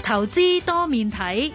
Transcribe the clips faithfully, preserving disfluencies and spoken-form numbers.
投資多面睇。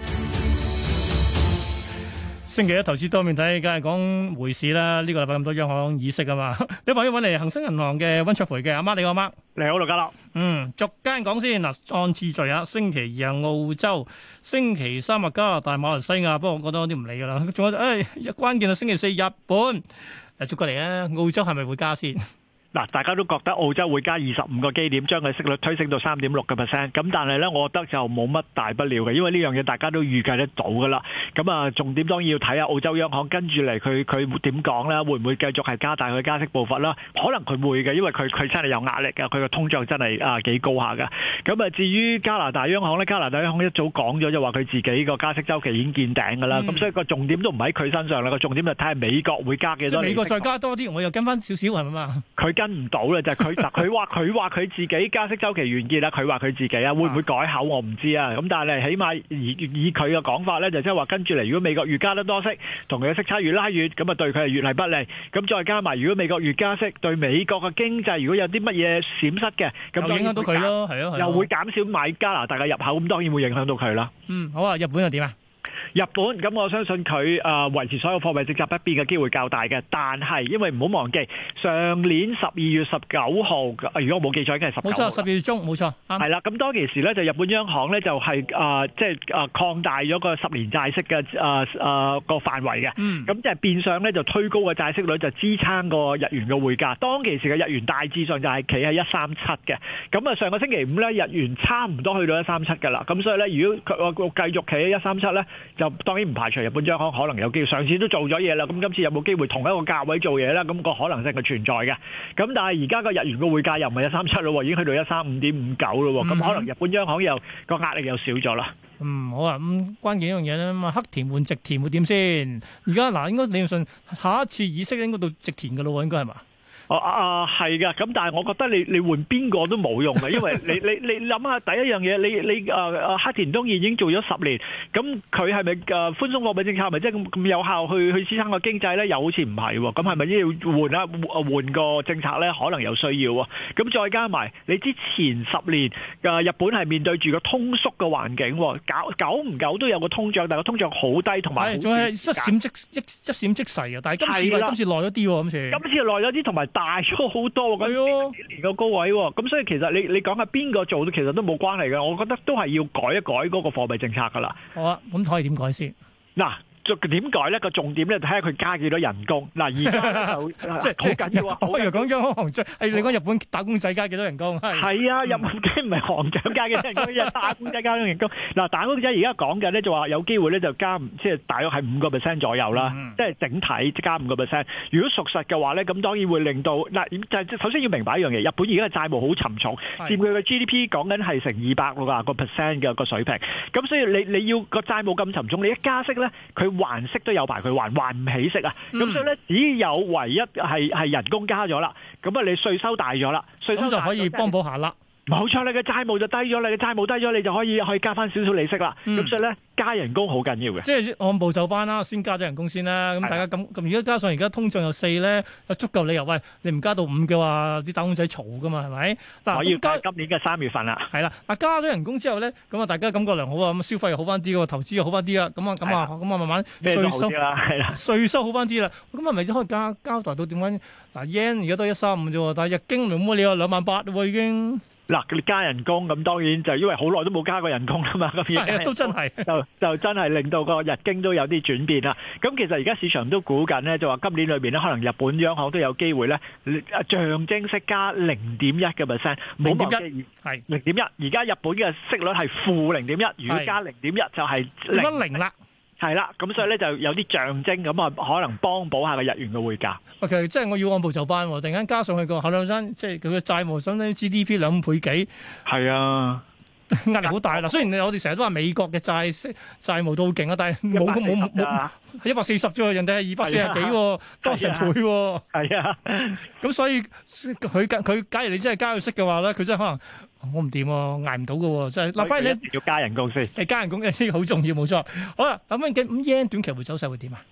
星期一投資多面睇，梗係講匯市啦。呢、這個禮拜咁多央行議息啊嘛，你話要揾嚟恒生銀行嘅溫灼培嘅阿媽，你好阿媽。 你好，盧家樂。 嗯，逐間講先嗱，按次序啊。星期二係澳洲，星期三係加拿大、馬來西亞。不過我覺得我啲唔理噶啦。仲有誒、哎，關鍵係星期四日本。誒，捉過嚟啊！澳洲係咪會加先？ 嗱，大家都覺得澳洲會加二十五個基點，將佢息率推升到三點六個 percent。咁但係咧，我覺得就冇乜大不了嘅，因為呢樣嘢大家都預計得到噶啦。咁啊，重點當然要睇下澳洲央行跟住嚟佢佢點講啦，會唔會繼續係加大佢加息步伐啦？可能佢會嘅，因為佢佢真係有壓力嘅，佢個通脹真係啊幾高下㗎。咁啊，至於加拿大央行咧，加拿大央行一早講咗就話佢自己個加息週期已經見頂㗎啦。咁、嗯、所以個重點都唔喺佢身上啦，個重點就睇下美國會加幾多。 即係美國再加多啲，我又跟翻少少係咪嘛？ 佢跟唔到啦，就係佢佢話佢話佢自己加息週期完結啦，佢話佢自己啊，會唔會改口我唔知啊。咁但係起碼以以佢嘅講法咧，就即係話跟住嚟，如果美國越加得多息，同佢嘅息差越拉越，咁啊對佢係越係不利。咁再加埋，如果美國越加息，對美國嘅經濟如果有啲乜嘢閃失嘅，咁影響到佢咯，係咯， 又會減少買加拿大嘅入口，咁當然會影響到佢啦。 嗯，好啊，日本又點啊？ 日本咁，我相信佢誒維持所有貨幣政策不變嘅機會較大嘅，但係因為唔好忘記上年十二月十九號，如果我冇記錯，應該係十九號。冇錯， 十二月中冇錯。 係啦，咁當其時咧，就日本央行咧就係誒即係誒擴大咗個十年債息嘅誒誒個範圍嘅。嗯。咁即係變相咧就推高個債息率，就支撐個日元嘅匯價。當其時嘅日元大致上就係企喺一三七嘅。咁啊，上個星期五咧，日元差唔多去到一三七㗎啦。咁所以咧，如果佢我繼續企喺一三七咧，就當然唔排除日本央行可能有機會，上次都做咗嘢啦，咁今次有冇機會同一個價位做嘢咧？咁個可能性係存在嘅。咁但係而家個日元個匯價又唔係一三七咯，已經去到一三五點五九咯。咁可能日本央行又個壓力又少咗啦。 嗯，好啊。咁關鍵一樣嘢咧，咁啊黑田換直田會點先？而家嗱，應該理論上下一次議息應該到直田嘅咯，應該係嘛？ 哦啊係嘅，咁但係我覺得你你換邊個都冇用嘅，因為你你你諗下第一樣嘢，你你誒誒黑田東彥已經做咗十年，咁佢係咪誒寬鬆貨幣政策係咪即係咁咁有效去去支撐個經濟咧？又好似唔係喎，咁係咪要換啊換個政策咧？可能有需要喎。咁再加埋你之前十年誒日本係面對住個通縮嘅環境，久久唔久都有個通脹，但係個通脹好低，同埋仲係一閃即一一閃即逝啊！但係今次今次耐咗啲喎，今次今次耐咗啲，同埋大咗好多，咁幾年個高位喎，咁所以其實你你講下邊個做，其實都冇關係嘅。我覺得都係要改一改嗰個貨幣政策噶啦。 好啊，咁可以點改先？ 嗱。點改咧？個重點咧睇下佢加幾多人工。嗱，而家就即係好緊要啊！ 我以為講央行行長，係你講日本打工仔加幾多人工？ 係啊，日本梗唔係行長加幾多人工，係打工仔加幾多人工。嗱，打工仔而家講緊咧就話有機會咧就加，即係大約係五個 percent 左右啦。即係整體加五個 percent。如果屬實嘅話咧，咁當然會令到嗱，就首先要明白一樣嘢，日本而家嘅債務好沉重，佔佢嘅 G D P 講緊係成二百六啊個 percent 嘅個水平。咁所以你你要個債務咁沉重，你一加息咧，佢還息都有排佢還，還唔起息啊！咁、嗯、所以咧，只有唯一係係人工加咗啦，咁啊你稅收大咗啦，稅收大就可以幫補下啦。 冇錯，你嘅債務就低咗，你嘅債務低咗，你就可以可以加翻少少利息啦。咁、嗯、所以咧，加人工好緊要嘅。 即係按部就班啦，先加咗人工先啦。咁大家咁咁，而家加上而家通脹又四咧，有足夠理由。喂，你唔加到五嘅話，啲打工仔嘈噶嘛，係咪？嗱， 我要加今年嘅三月份啦。 係啦，嗱，加咗人工之後咧，咁啊，大家感覺良好啊，咁消費又好翻啲，個投資又好翻啲啦。咁啊，咁啊，咁啊，慢慢稅收啦，係啦， 稅收好翻啲啦。咁係咪都可以交交代到點解？嗱 yen 而家都一三五啫，但係日經冇乜理由兩萬八喎已經。 嗱，你加人工咁當然就因為好耐都冇加過人工啦嘛，咁而家都真係就就真係令到個日經都有啲轉變啦。咁其實而家市場都估緊咧，就話今年裏邊咧，可能日本央行都有機會咧，象徵式加零點一嘅 percent，冇忘記係零點一。而家日本嘅息率係負零點一，如果加零點一就係零零啦。 係啦，咁所以咧就有啲象徵咁啊，可能幫補下個日元嘅匯價。 OK，即係我要按部就班，突然間加上去個後兩生，即係佢嘅債務，相當於 G D P 兩倍幾。 係啊， 壓力好大啦。雖然我哋成日都話美國嘅債息債務都好勁啊，但係冇冇冇一百四十啫，人哋係二百四十幾，多成倍。 係啊， 咁所以佢佢假如你真係加佢息嘅話咧，佢真係可能。我唔掂喎，捱唔到嘅喎，即係嗱，反而你要加人工先， 係加人工嘅呢個好重要，冇錯。好啦，咁樣咁 yen 短期會走勢會點啊？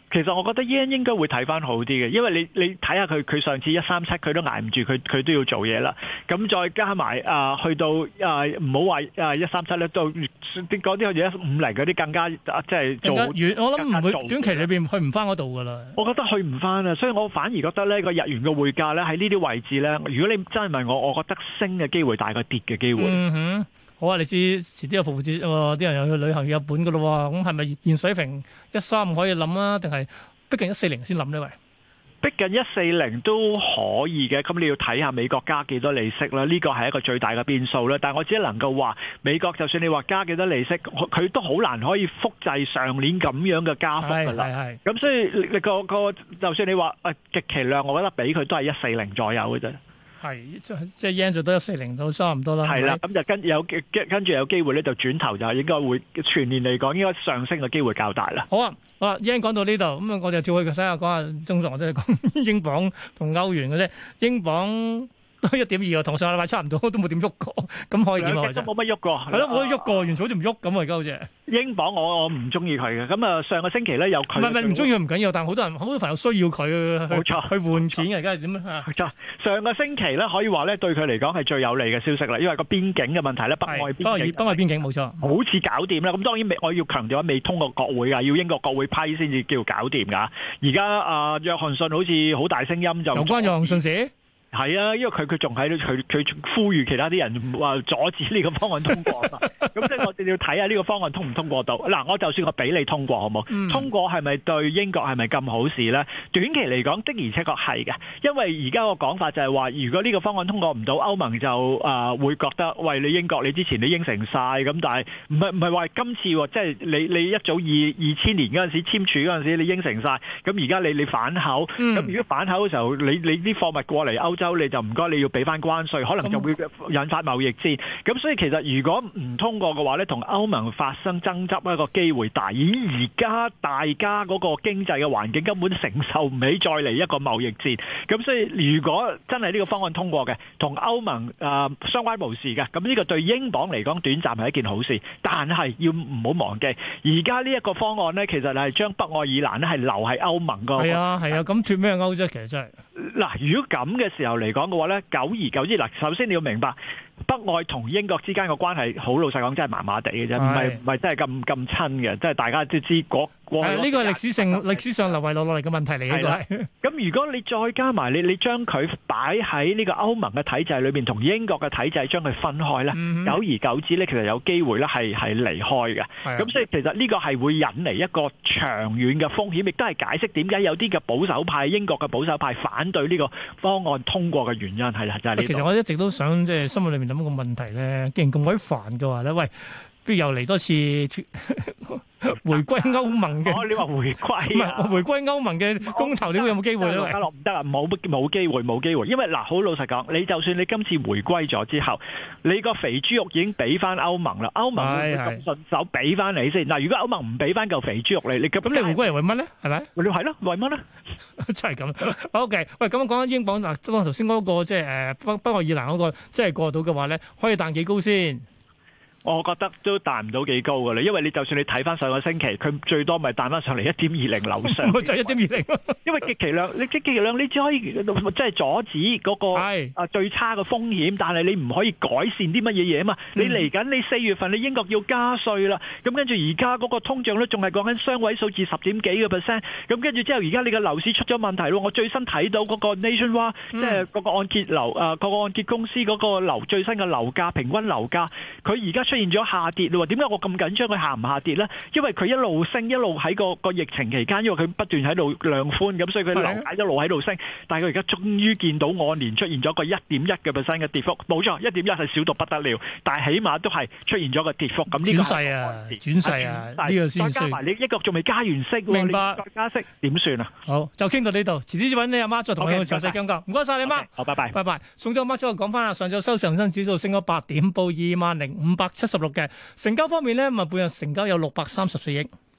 其實我覺得 yen 應該會睇翻好啲嘅，因為你你睇下佢佢上次一三七佢都捱唔住，佢佢都要做嘢啦。咁再加埋啊、呃，去到啊唔好話啊一三七咧，到啲嗰啲好似一五零嗰啲更加即係做遠。我諗唔會短期裏邊去唔翻嗰度噶啦。 我覺得去唔翻啊，所以我反而覺得呢個日元嘅匯價咧喺呢啲位置咧，如果你真係問我，我覺得升嘅機會大過跌嘅機會。 嗯哼。好啊！你知遲啲有復活節喎，啲人又去旅行去日本噶咯喎，咁係咪現水平一三五可以諗啊？定係逼近一四零先諗呢？喂， 逼近一四零都可以嘅，咁你要睇下美國加幾多利息啦，呢個係一個最大嘅變數啦。但係我只能夠話，美國就算你話加幾多利息，佢都好難可以複製上年咁樣嘅加幅噶啦。係係。咁所以你個個就算你話誒極其量，我覺得俾佢都係一四零左右嘅啫。 係，即即係 yen 就都一四零到差唔多啦。 係啦，咁就跟有跟跟住有機會咧，就轉頭就應該會全年嚟講應該上升嘅機會較大啦。 好啊，好啊，yen 講到呢度，咁啊，我哋跳去睇下講下，正常我哋講英鎊同歐元嘅啫，英鎊。都一點二啊，同上個禮拜差唔多，都冇點喐過，咁可以點啊？ 都冇乜喐過， 係咯，冇得喐過，完全好似唔喐咁啊！而家好似英鎊，我我唔中意佢嘅。咁啊，上個星期咧有佢， 唔係唔係唔中意佢唔緊要，但係好多人好多朋友需要佢，冇錯，去換錢嘅，而家係點啊？ 冇錯，上個星期咧可以話咧對佢嚟講係最有利嘅消息啦，因為個邊境嘅問題咧，北愛邊境， 北愛邊境冇錯， 好似搞掂啦。咁當然未，我要強調未通過國會㗎，要英國國會批先至叫搞掂㗎。而家啊，約翰遜好似好大聲音就有關約翰遜事。 係啊，因為佢佢仲喺度，佢佢呼籲其他啲人話阻止呢個方案通過嘛。咁即係我哋要睇下呢個方案通唔通過到。嗱，我就算我俾你通過好冇？嗯、通過係咪對英國係咪咁好事咧？短期嚟講的而且確係嘅，因為而家個講法就係話，如果呢個方案通過唔到，歐盟就啊、呃、會覺得，喂，你英國你之前你應承晒咁，但係唔係唔係話今次喎，即係你你一早二二千年嗰陣時簽署嗰陣時你應承晒，咁而家你你反口，咁、嗯、如果反口嘅時候，你你啲貨物過嚟歐洲你就唔該，你要俾翻關稅，可能就會引發貿易戰。咁所以其實如果唔通過嘅話咧，同歐盟發生爭執一個機會大。而而家大家嗰個經濟嘅環境根本承受唔起再嚟一個貿易戰。咁所以如果真係呢個方案通過嘅，同歐盟誒、呃、相關無事嘅，咁呢個對英鎊嚟講短暫係一件好事。但係要唔好忘記，而家呢一個方案咧，其實係將北愛爾蘭咧係留喺歐盟個。係啊係啊，咁脱咩歐啫？其實真係。 嗱，如果咁嘅時候嚟講嘅話咧，久而久之，嗱，首先你要明白北愛同英國之間嘅關係，好老實講真係麻麻地嘅啫，唔係唔係真係咁咁親嘅，即係大家都知嗰。 係呢個歷史性歷史上流遺落落嚟嘅問題嚟嘅。係咁如果你再加埋你你將佢擺喺呢個歐盟嘅體制裏邊，同英國嘅體制將佢分開咧，嗯、久而久之咧，其實有機會咧係係離開嘅。咁所以其實呢個係會引嚟一個長遠嘅風險，亦都係解釋點解有啲嘅保守派、英國嘅保守派反對呢個方案通過嘅原因係啦，就係呢。其實我一直都想即係心裏面諗個問題咧，既然咁鬼煩嘅話咧，喂，不如又嚟多次回歸歐盟嘅、 哦，你話回歸唔係回歸歐盟嘅公投，你會有冇機會咧？ 家樂唔得啊，冇冇機會，冇機會，因為嗱，好老實講，你就算你今次回歸咗之後，你個肥豬肉已經俾翻歐盟啦，歐盟會唔會咁順手俾翻你先？嗱，如果歐盟唔俾翻嚿肥豬肉你，你咁你回歸係為乜咧？係咪？ 你係咯，為乜咧？ 真係咁。OK，喂，咁講緊英鎊嗱，當頭先嗰個即係誒北北愛爾蘭嗰個，即係過到嘅話咧，可以彈幾高先？ 我覺得都彈唔到幾高㗎啦，因為你就算你睇翻上個星期，佢最多咪彈翻上嚟一點二零樓上， 就一點二零。因為極其量，你極其量，你只可以即係阻止嗰個啊最差嘅風險，但係你唔可以改善啲乜嘢嘢啊嘛。嗯、你嚟緊你四月份你英國要加稅啦，咁跟住而家嗰個通脹率仲係講緊雙位數字十點幾個 percent，咁跟住之後而家你個樓市出咗問題咯。我最新睇到嗰個 Nationwide，即係嗰個按揭樓啊，嗰個按揭公司嗰個樓最新嘅樓價平均樓價，佢而家出現咗下跌咯。點解我咁緊張佢下唔下跌咧？因為佢一路升，一路喺個個疫情期間，因為佢不斷喺度量寬，咁所以佢樓價一路喺度升。但係佢而家終於見到按年出現咗個一點一嘅 percent 嘅跌幅，冇錯，一點一係少到不得了，但係起碼都係出現咗個跌幅。咁呢個轉勢啊，轉勢啊，呢個先再加埋你一個仲未加完息， 明白？ 再加息點算啊？ 好，就傾到呢度，遲啲揾你阿媽再同我詳細講講。唔該晒你阿媽， 好，拜拜， 拜拜。送咗阿媽之後講翻啦，上晝收上證指數升咗八點，報二萬零五百七十六嘅。成交方面咧，咁啊，半日成交有六百三十四億。